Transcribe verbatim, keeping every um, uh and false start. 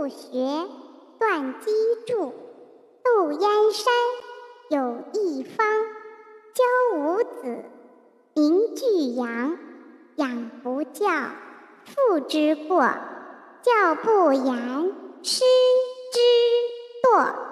不学，断机杼。窦燕山有一方，教五子，名俱扬。养不教，父之过；教不严，师之惰。